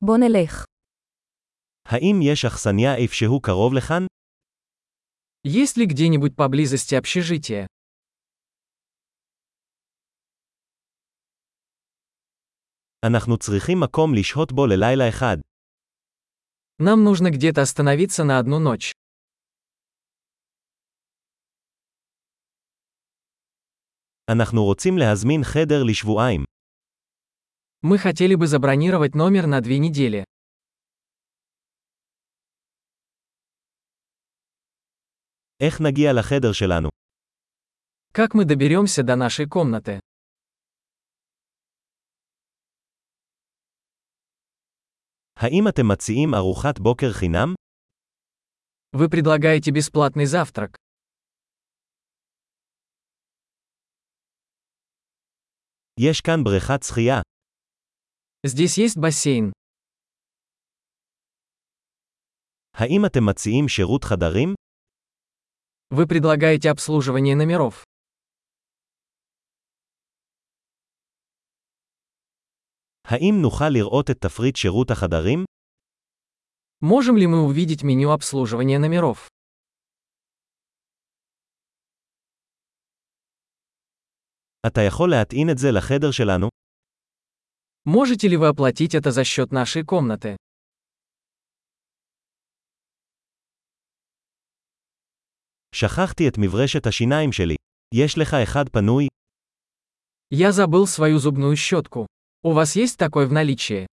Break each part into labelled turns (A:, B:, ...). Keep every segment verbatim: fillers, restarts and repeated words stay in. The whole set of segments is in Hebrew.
A: בוא נלך.
B: האם יש אכסניה איפשהו קרוב לכאן?
C: Есть ли где-нибудь поблизости общежитие?
B: אנחנו צריכים מקום לשהות בו ללילה אחד.
C: Нам нужно где-то остановиться на одну ночь.
B: אנחנו רוצים להזמין חדר לשבועיים.
C: Мы хотели бы забронировать номер на две недели.
B: איך נגיע לחדר שלנו?
C: Как мы доберемся до нашей комнаты?
B: האם אתם מציעים ארוחת בוקר חינם?
C: Вы предлагаете бесплатный завтрак.
B: יש כאן בריכת שחייה.
C: Здесь есть бассейн.
B: האם אתם מציעים שירות חדרים?
C: Вы предлагаете обслуживание номеров.
B: האם נוכל לראות את תפריט שירות החדרים?
C: Можем ли мы увидеть меню обслуживания номеров?
B: אתה יכול להטעין את זה לחדר שלנו?
C: Можете ли вы оплатить это за счет нашей комнаты?
B: שכחתי את מברשת השיניים שלי. יש לך אחד פנוי?
C: Я забыл свою зубную щетку. У вас есть такой в наличии?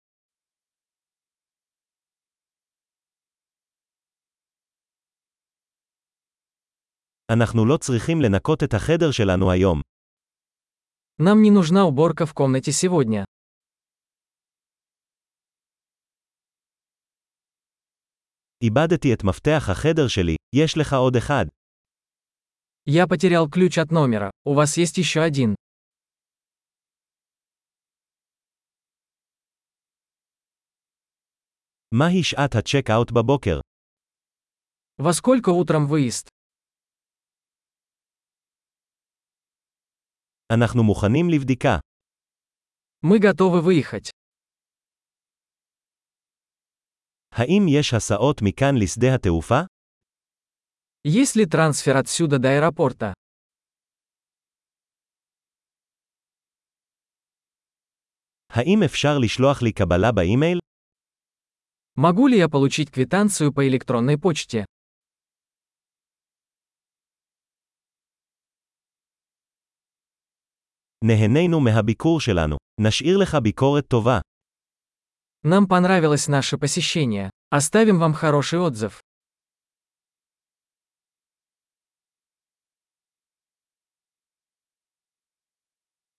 B: אנחנו לא צריכים לנקות את החדר שלנו היום.
C: Нам не нужна уборка в комнате сегодня.
B: איבדתי את מפתח החדר שלי. יש לך עוד אחד.
C: Я потерял ключ от номера. У вас есть еще один.
B: מהי שעת הצ'ק-אאוט בבוקר?
C: Во сколько утром выезд?
B: אנחנו מוכנים לבדיקה.
C: Мы готовы выехать.
B: האם יש הסעות מכאן לשדה התעופה?
C: Есть ли трансфер отсюда до аэропорта?
B: האם אפשר לשלוח לי קבלה באימייל?
C: Могу ли я получить квитанцию по электронной почте?
B: נהנינו מהביקור שלנו. נשאיר לך ביקורת טובה.
C: Нам понравилось наше посещение. Оставим вам хороший отзыв.